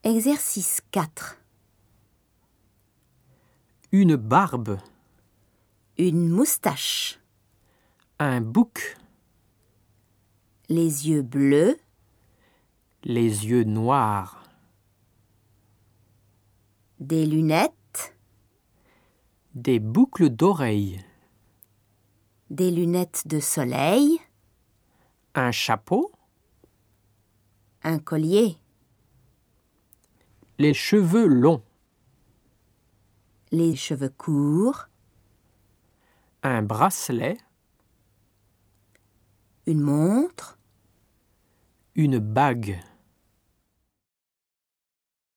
Exercice 4. Une barbe, Une moustache. un bouc, Les yeux bleus. les yeux noirs, Des lunettes. des boucles d'oreilles, Des lunettes de soleil. un chapeau, Un collier. les cheveux longs, Les cheveux courts. un bracelet, Une montre. une bague.